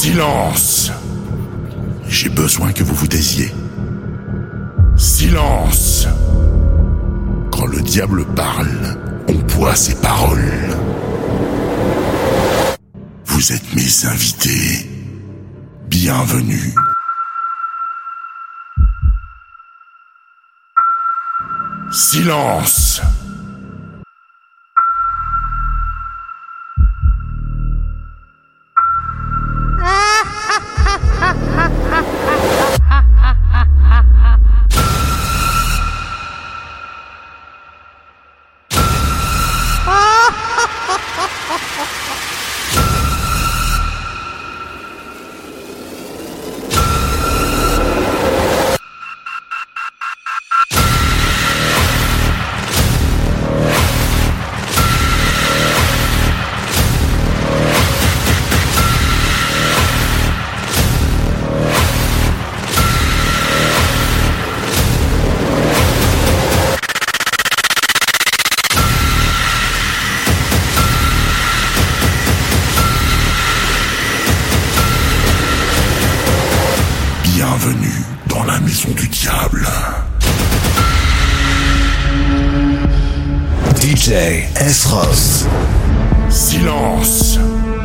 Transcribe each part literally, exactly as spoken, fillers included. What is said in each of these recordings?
Silence. J'ai besoin que vous vous taisiez. Silence. Quand le diable parle, on boit ses paroles. Vous êtes mes invités. Bienvenue. Silence. Bienvenue dans la maison du diable. D J S-Ross. Silence.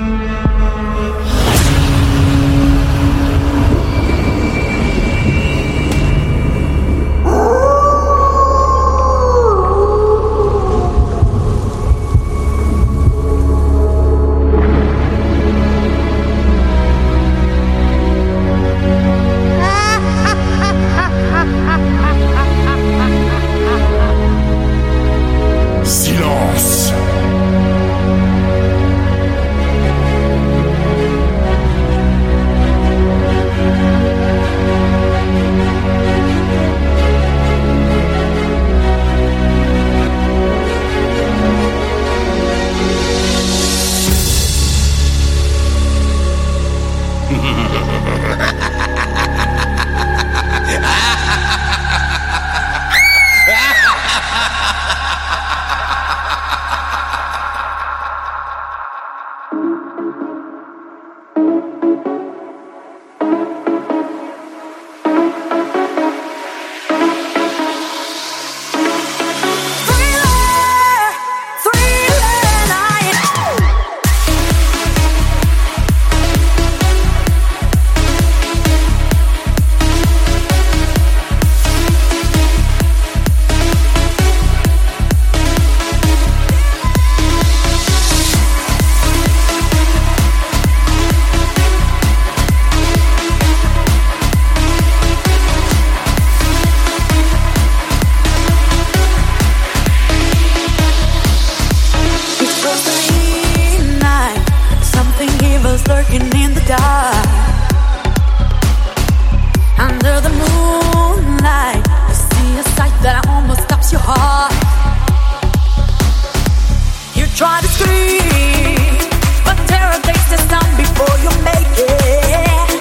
Silence. Try to scream, but terror takes the sound before you make it.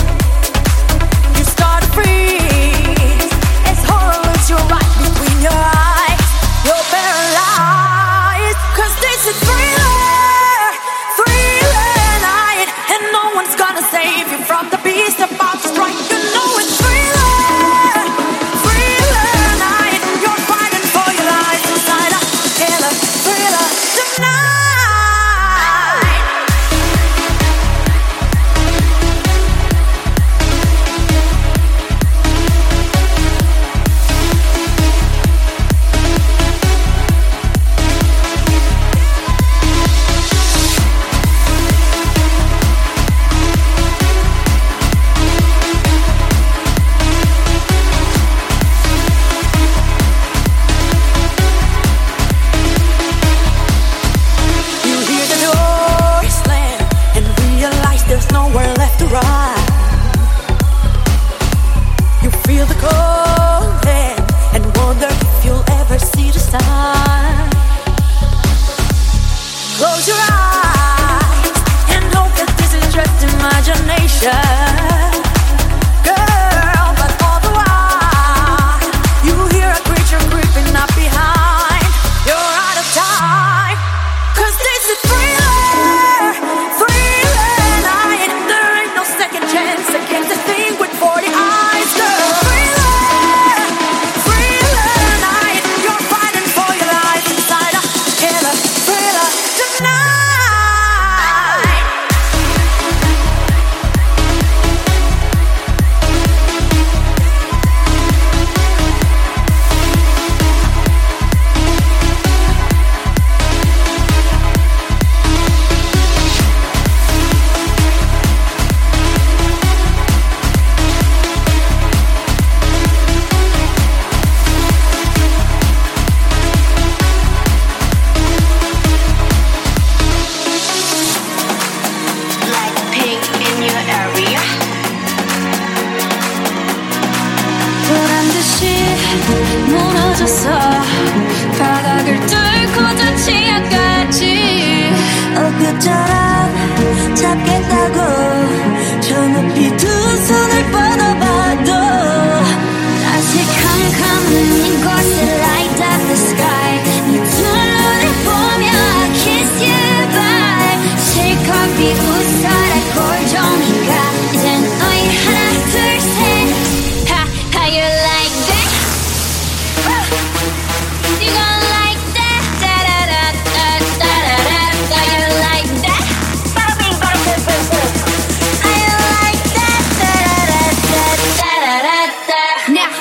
You start to freeze as horror looks you right between your eyes. You're paralyzed, cause this is thriller, thriller night, and no one's gonna save you from the beast about to strike. You know it's thriller, thriller night. You're fighting for your life inside a killer thriller. Cause this is thriller, thriller night. There ain't no 무너졌어 바닥을 뚫고 저 지하까지 엊그처럼 잡겠다고 저 높이 두 손을 뻗어봐도 다시 캄캄한 이곳에 light up the sky 네 두 눈을 보며 kiss you bye 실컷 비웃어라 골종이가 이젠 너희 하나 둘 셋 Ha, how you like that? You gon' like that? Da-da-da-da-da-da-da. How you like that? Bada bing, bada boom, boom, boom. How you like that? Da-da-da-da-da-da-da. Now.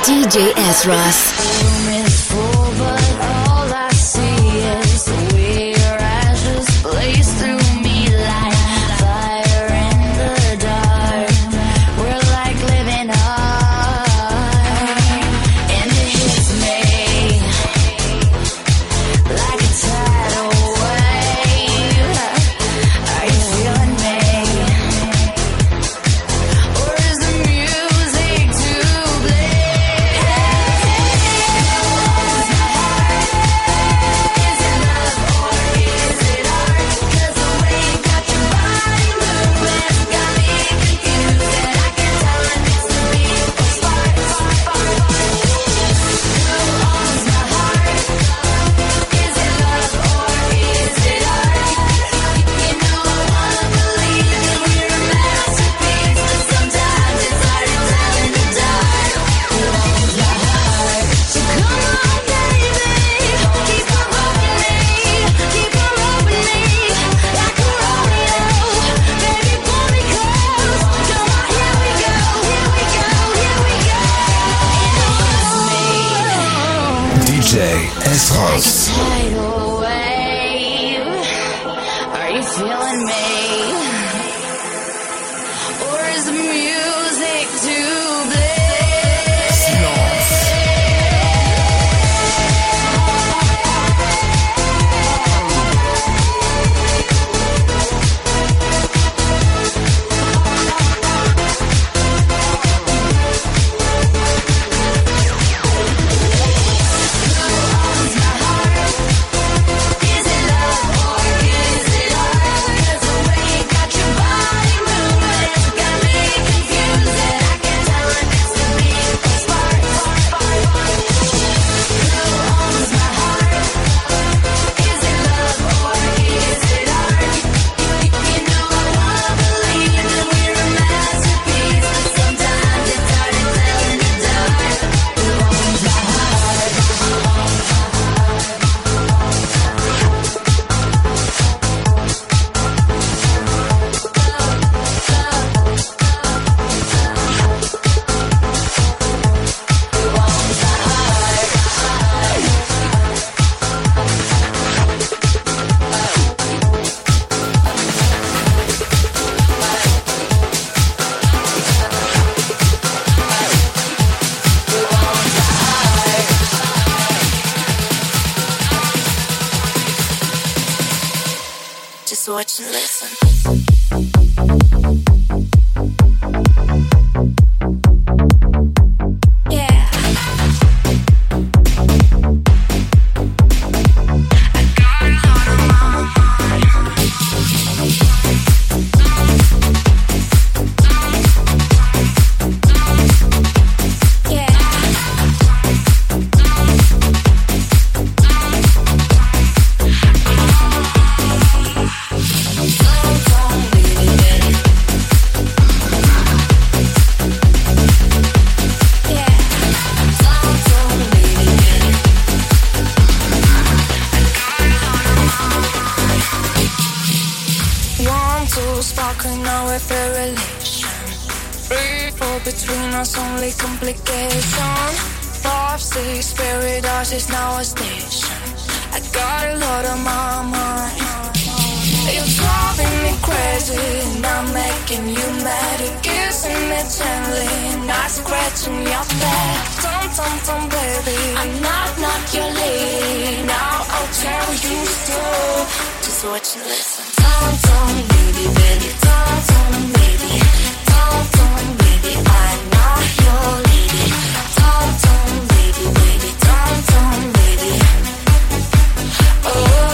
D J S-Ross. D J S-Ross. Are you feeling me? Or is the music too big? Silence. Just watch and listen. Complication. Five, six, paradise is now a station. I got a lot on my mind. You're driving me crazy, and I'm making you mad. You're kissing me gently, not scratching your back. Tom, tom, tom, baby, I'm not, not your lady. Now I'll tell you so. Just watch and listen. Tom, tom, baby, baby, tom, tom, baby, tom, tom, baby, I'm not your lady. Tom, tom, baby, baby, tom, tom, baby. Oh.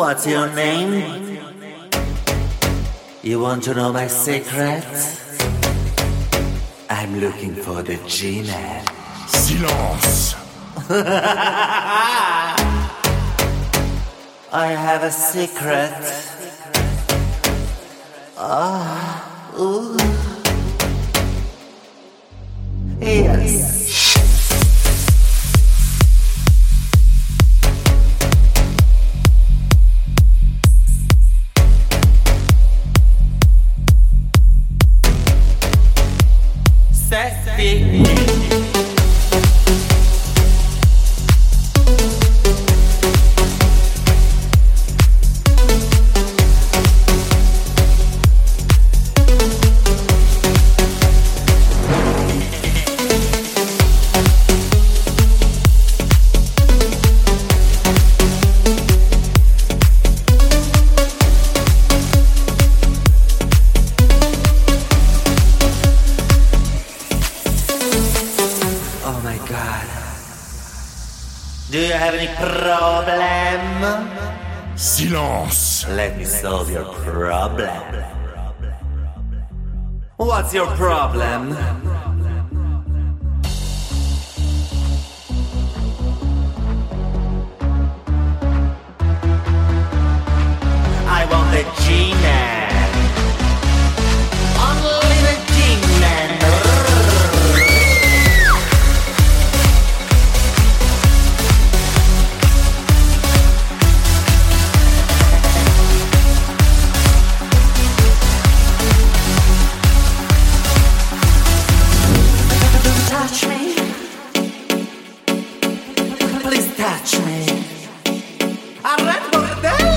What's your name? You want to know my secret? I'm looking for the G-Man. Silence. I have a secret. Ah, ooh. Yes. Sexy. Do you have any problem? Silence. Let me solve your problem. What's your problem? I want the G-Man. Only the G-Man. Touch me. Please touch me. Arrête bordel.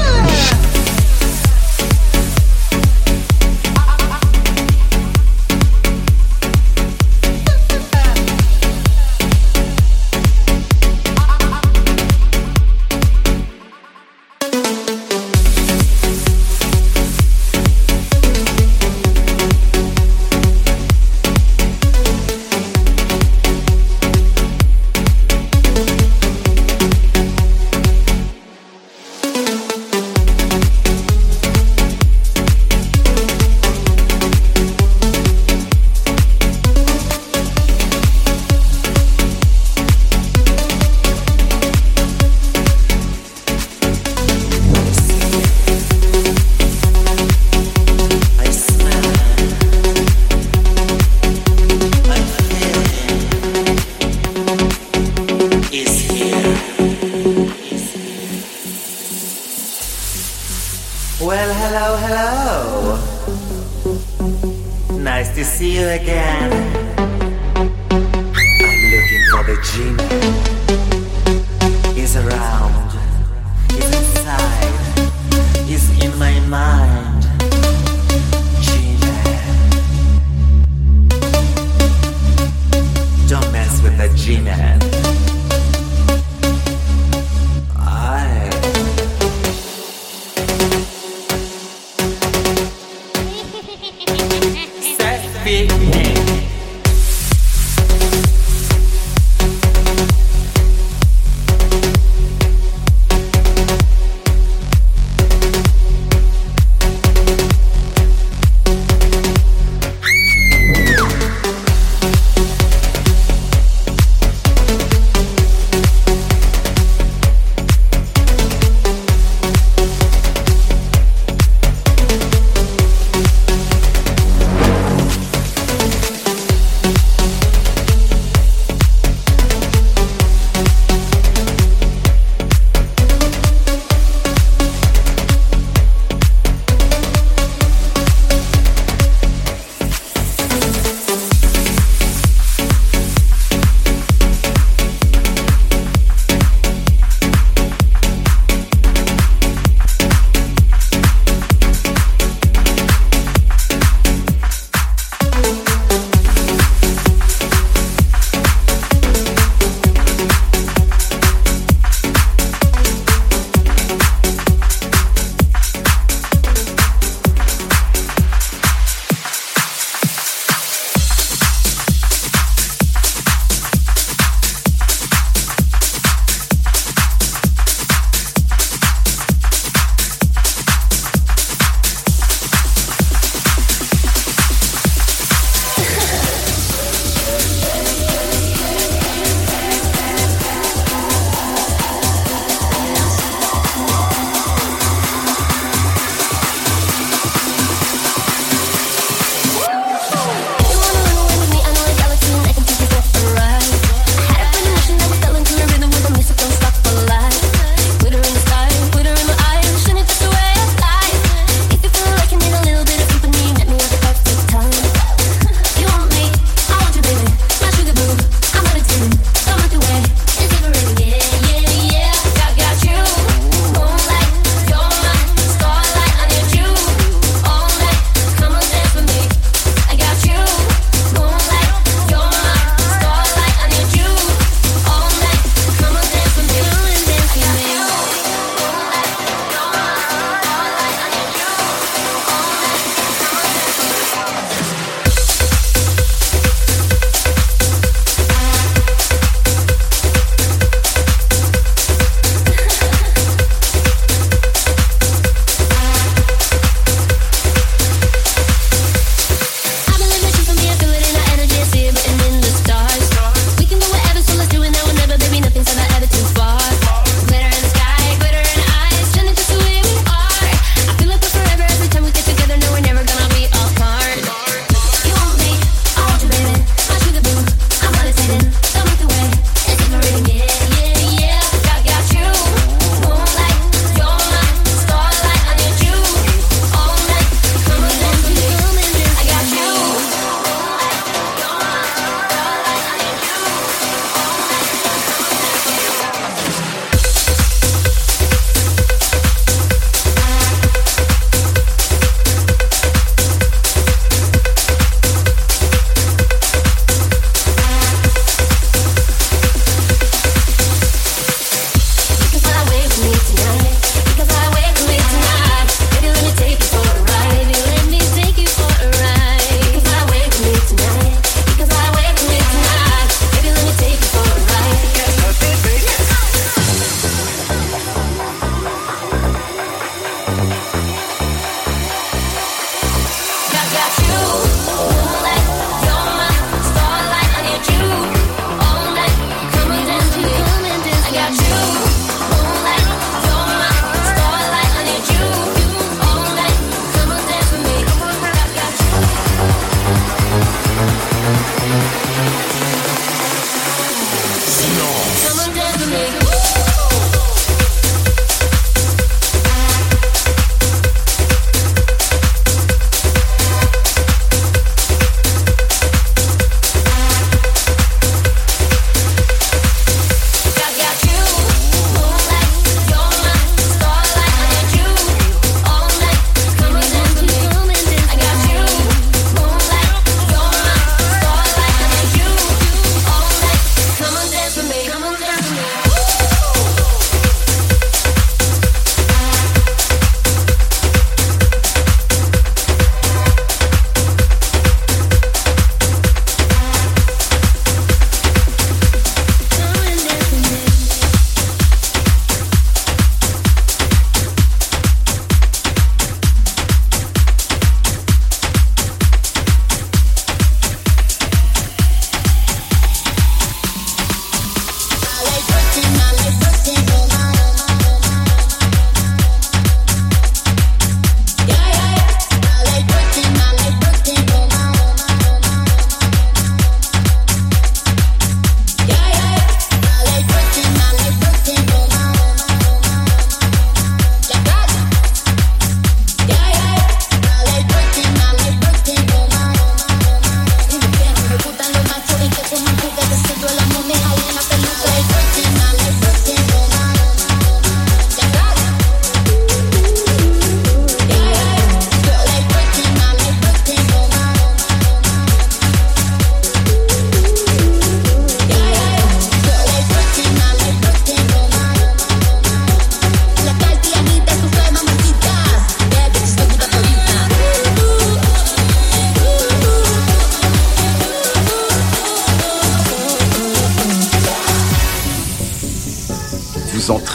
Well, hello, hello. Nice to see you again. I'm looking for the G-Man. He's around. He's inside. He's in my mind. G-Man. Don't mess with the G-Man. Big name.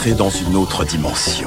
entrez dans une autre dimension.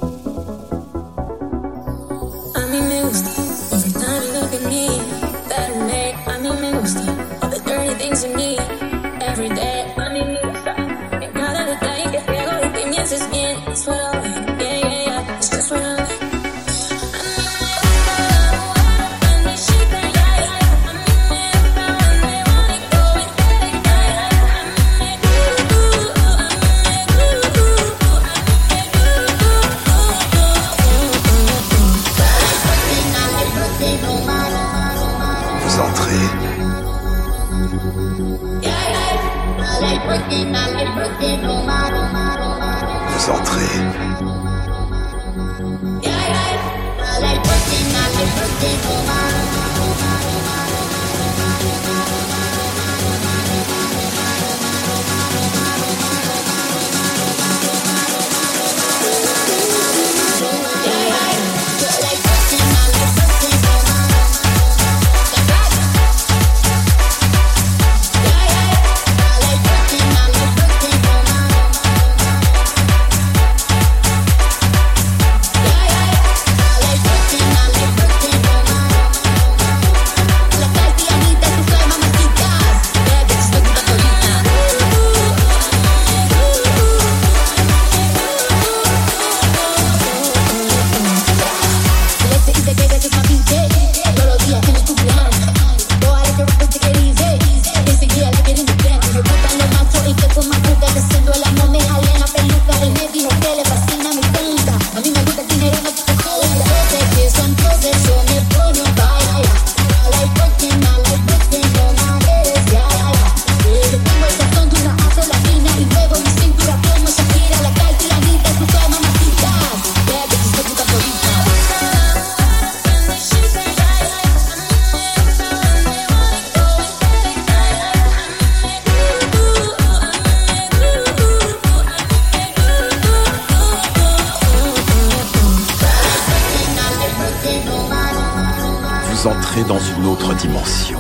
Entrez dans une autre dimension.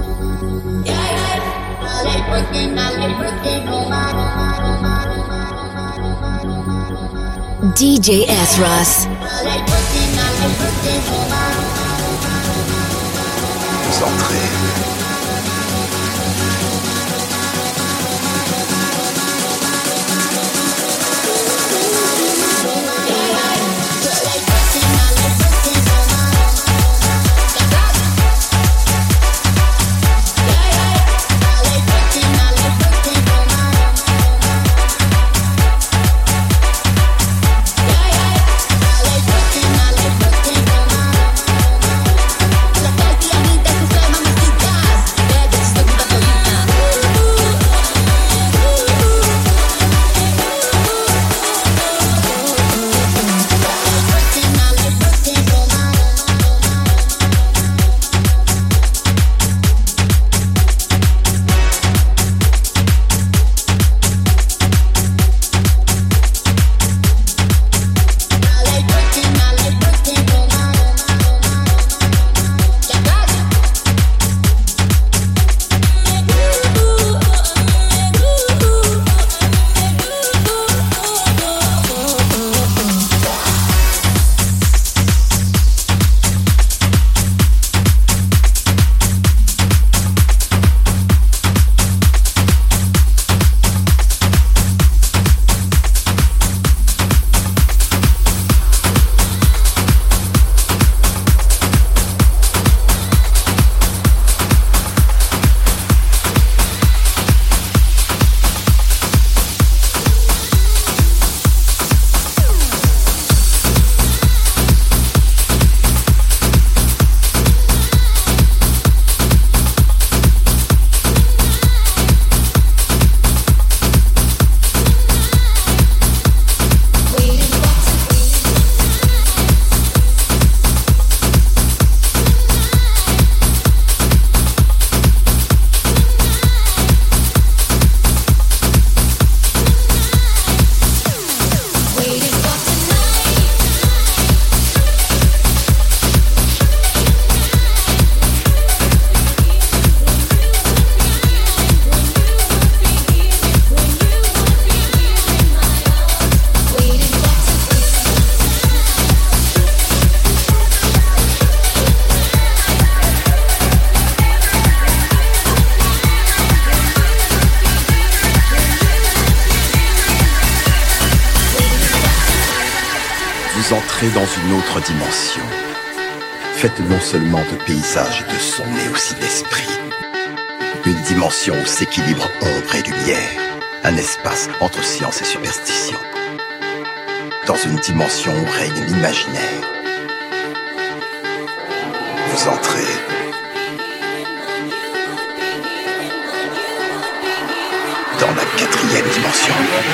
D J S-Ross. Vous entrez. La calcianita, tu fue mamacita. Vous entrez dans une autre dimension, faite non seulement de paysages et de sons, mais aussi d'esprit. Une dimension où s'équilibrent ombre et lumière, un espace entre science et superstition. Dans une dimension où règne l'imaginaire. Vous entrez dans la quatrième dimension.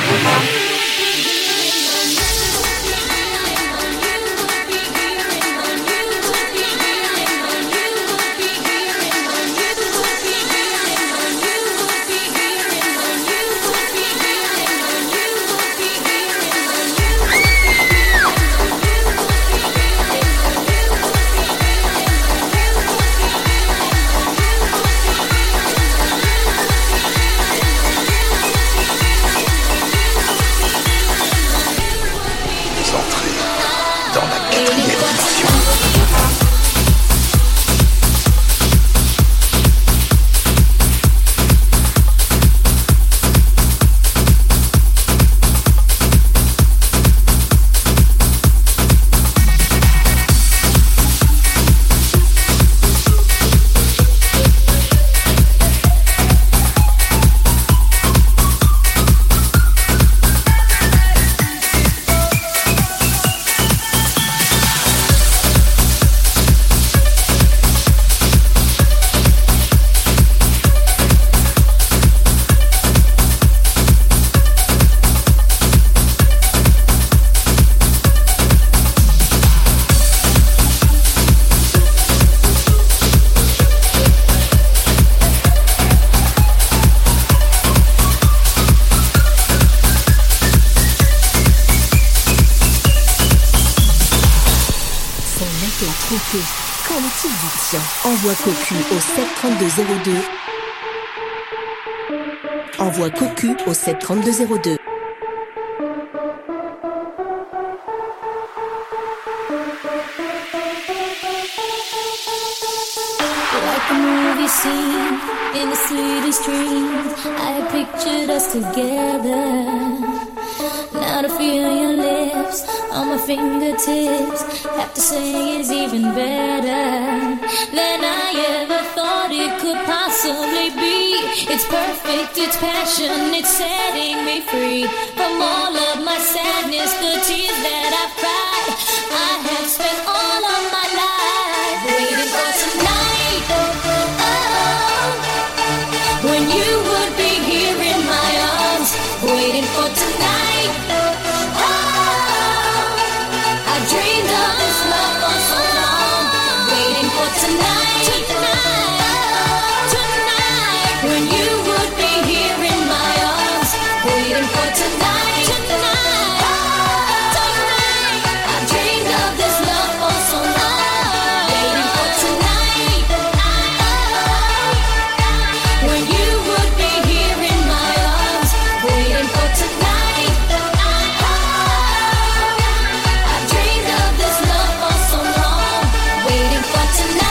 Envoie Cocu au sept trente-deux zéro deux. Envoie Cocu au sept trente-deux zéro deux. Like a movie scene in the city streets, I pictured us together. Now to feel your lips on my fingertips, have to say it's even better than I ever thought it could possibly be. It's perfect, it's passion, it's setting me free from all of my sadness, the tears that I've cried. I have spent all of my life waiting for tonight. Oh, when you would be here in my arms, waiting for tonight. Oh, I dreamed of this love for so long, waiting for tonight. Tonight, tonight, when you would be here in my arms, waiting for tonight. Tonight, tonight, I dreamed of this love for so long, waiting for tonight. When you would be here in my arms, waiting for tonight. I dreamed of this love for so long, waiting for tonight.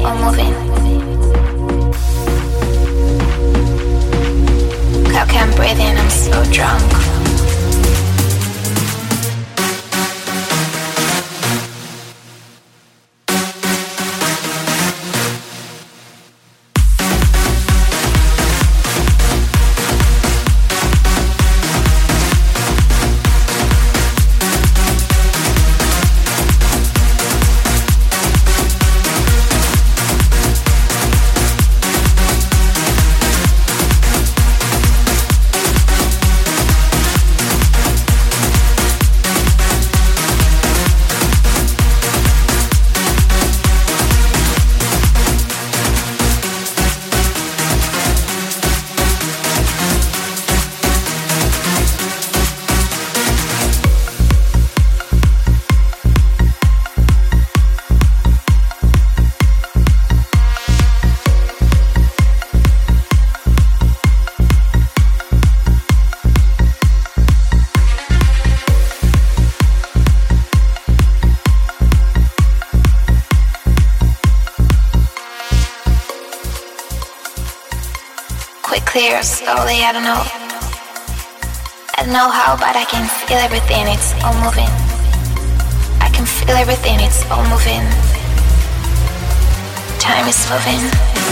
all moving. I can't breathe in, I'm so drunk. Clear slowly, I don't know. I don't know how, but I can feel everything, it's all moving. I can feel everything, it's all moving. Time is moving.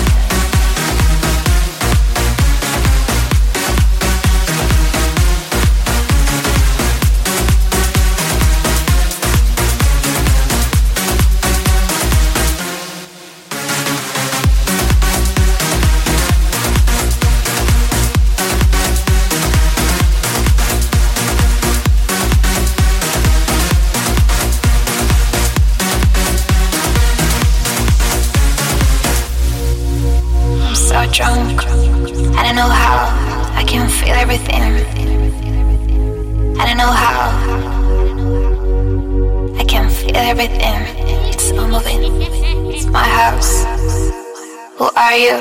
Drunk. I don't know how. I can feel everything. I don't know how. I can feel everything. It's all moving. It's my house. Who are you?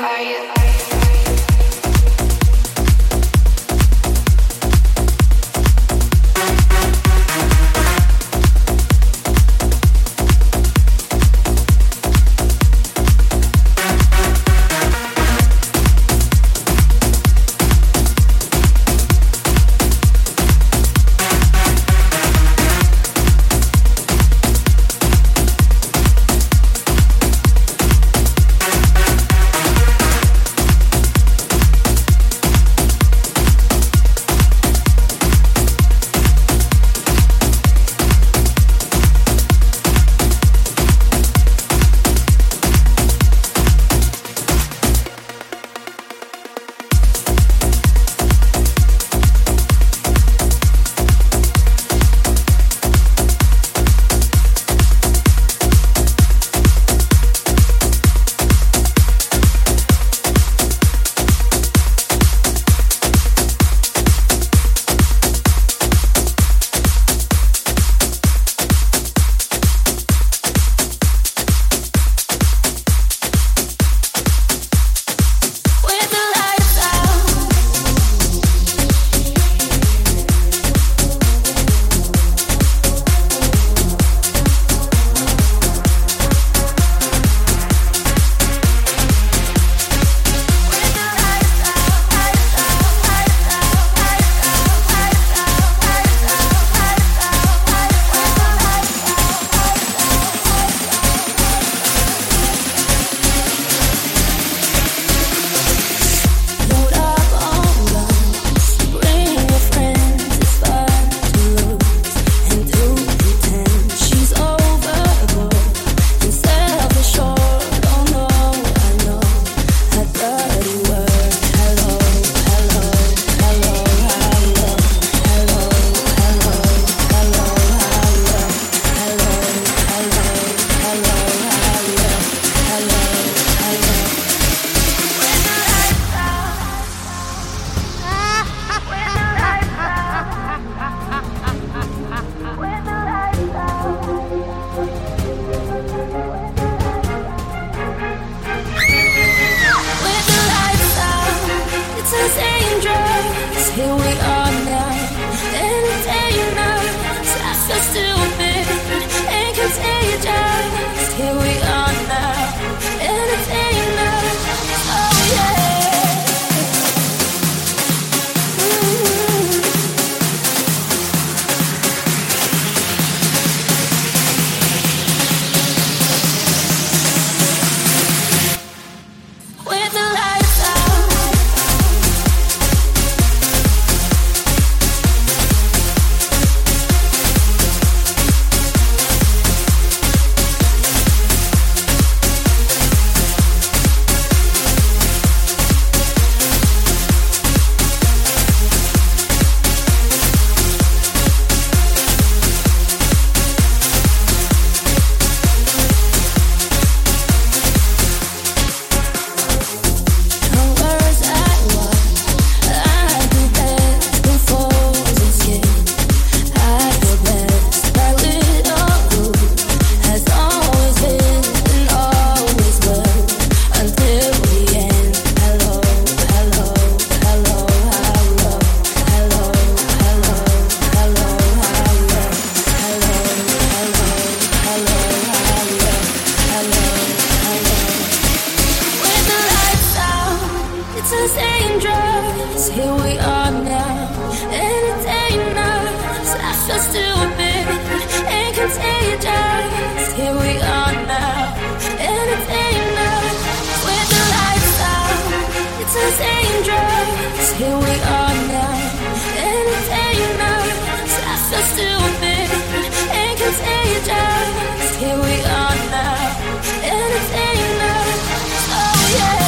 drugs. Here we are now, entertain us. I feel stupid and contagious. Here we are now, entertain us. With the lights out, it's us dangerous. Here we are now, entertain us. I feel stupid and contagious. Here we are now, entertain us. Oh yeah.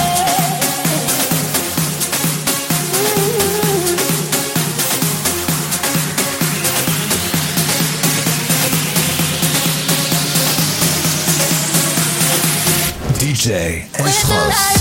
D J S-Ross.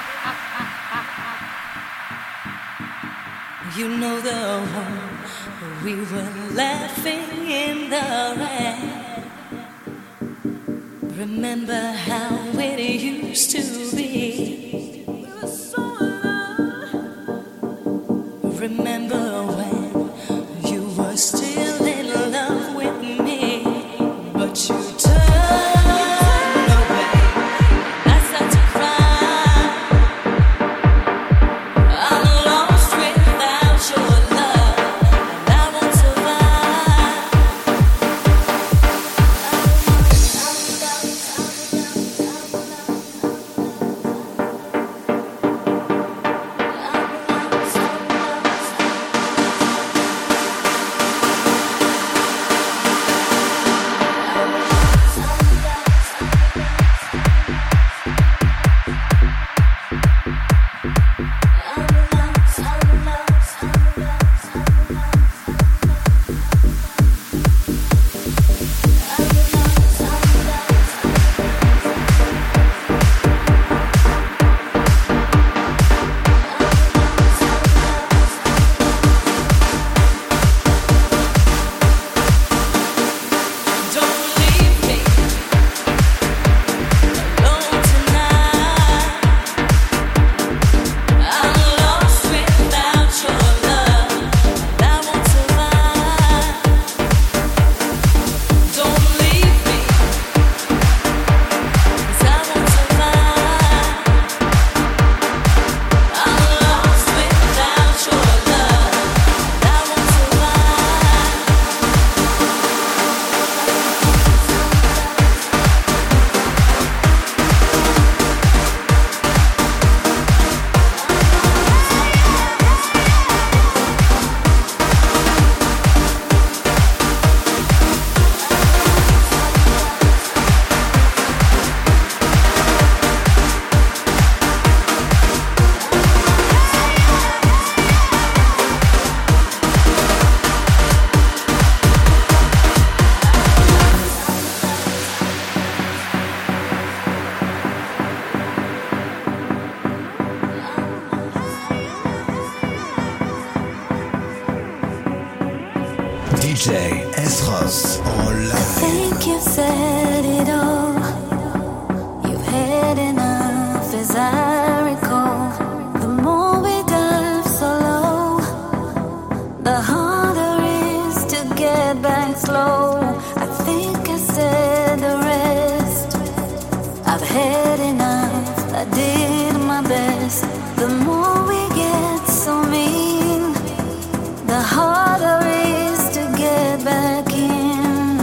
You know the one we were laughing in the rain. Remember how it used to be. We were so in love. Remember when you were still in love with me, but you turned away. I started to cry. I'm lost without your love, and I won't survive. D J S-Ross en live. I think you've said it all. You've had enough, as I recall. The more we dive so low, the harder it is to get back slow. I think I said the rest. I've had enough, I did my best. The more we get so mean, the harder it is to get back in.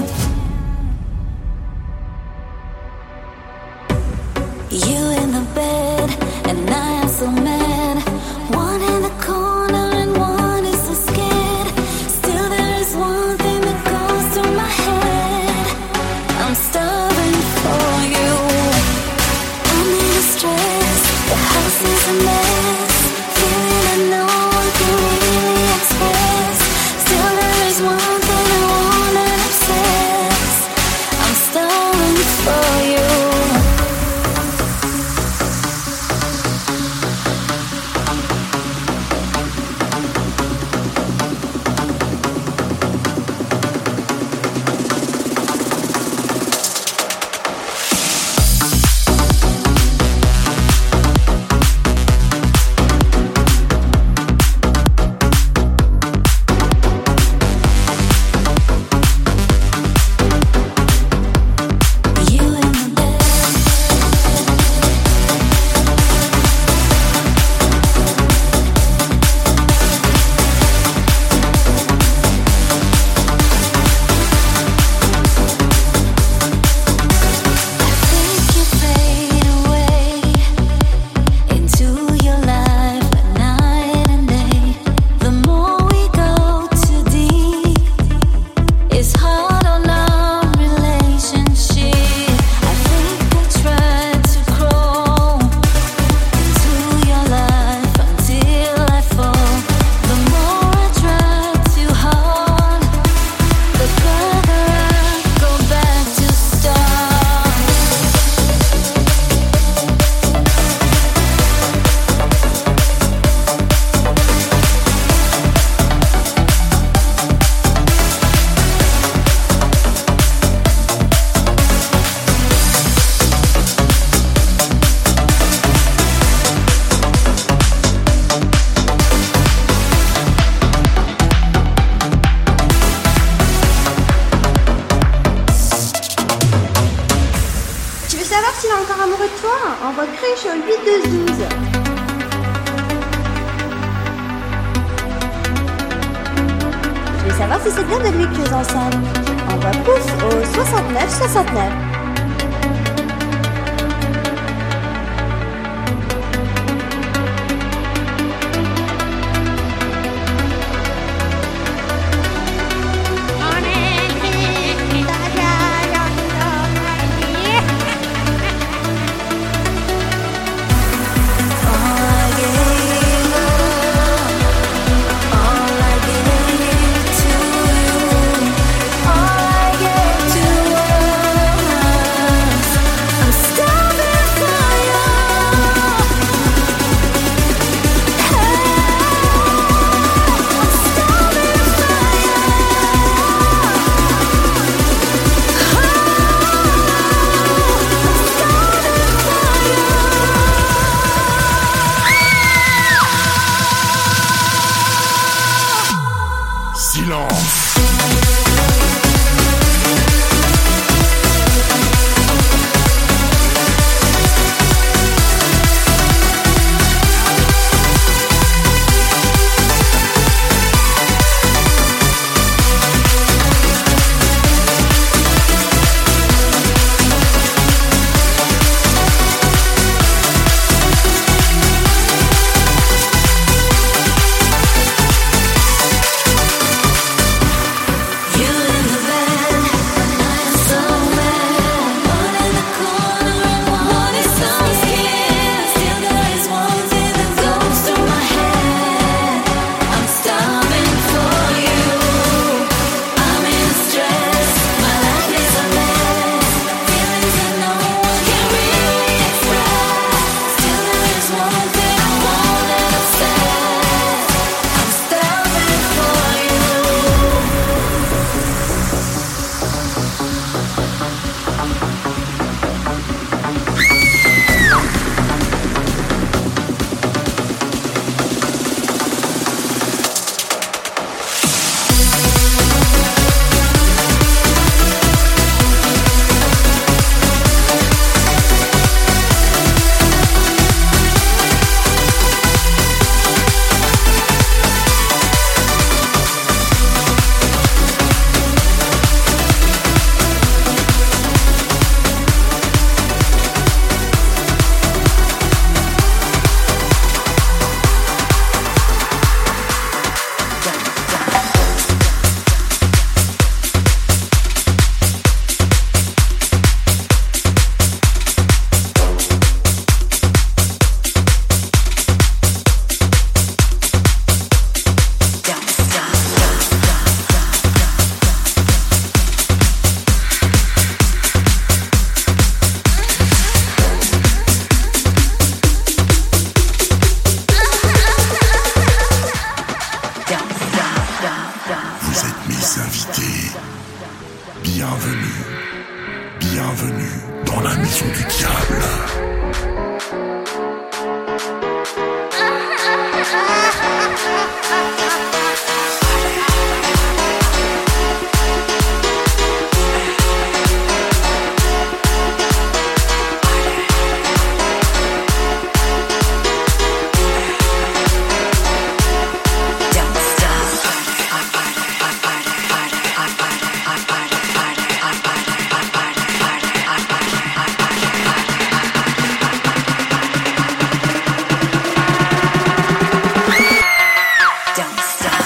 You in the bed, and I am so mad. One in the corner and one is so scared. Still there is one thing that goes through my head. I'm starving for you. I'm in distress, the house is a mess. Feeling that no one can really express. Still there is one thing I wanna obsess. I'm starving for you. fraîche au huit douze douze. Je veux savoir si c'est bien de lui que nous ensemble. Envoie pouce au soixante-neuf soixante-neuf. Don't stop.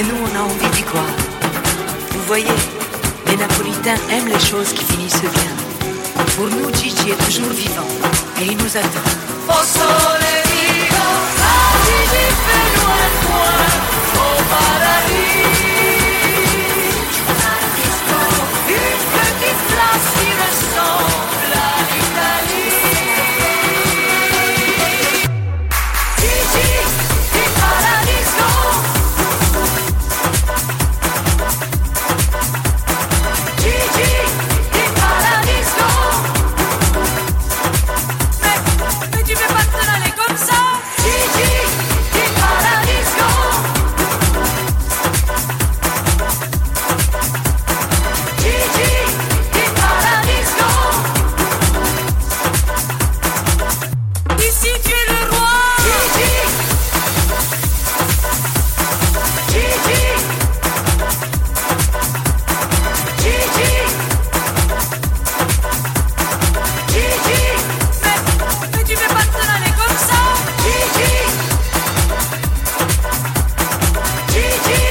Mais nous, on a envie d'y croire. Vous voyez, les Napolitains aiment les choses qui finissent bien. Pour nous, Gigi est toujours vivant et il nous attend. Au soleil vivant, ah, Gigi fait loin de moi, au paradis. Une petite place qui ressemble à l'Italie. Gigi, du paradiso. Gigi, du paradiso. Mais, mais tu veux pas te aller comme ça? Gigi, du paradiso. Gigi, du paradiso. Ici tu es le roi. Gigi. Gigi. Gigi. Gigi. Mais, mais tu veux pas te aller comme ça? Gigi. Gigi.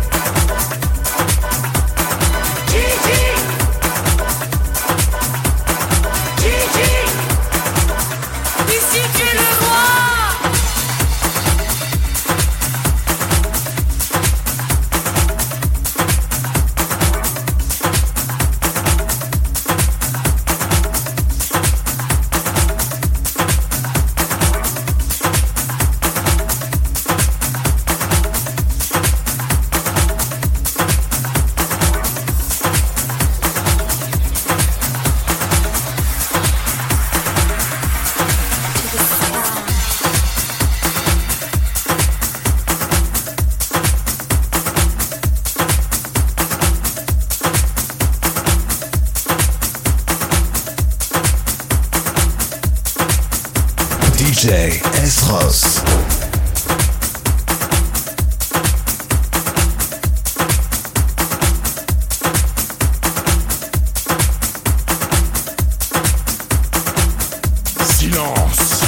Gigi. Gigi. Ici tu es le roi. D J S-Ross. Silence.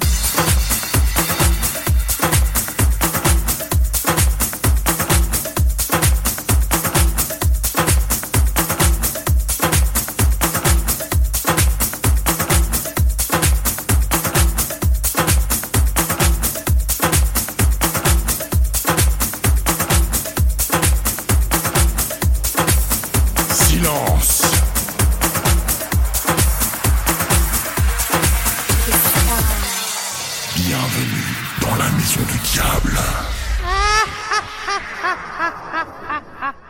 Silence. Bienvenue dans la maison du diable.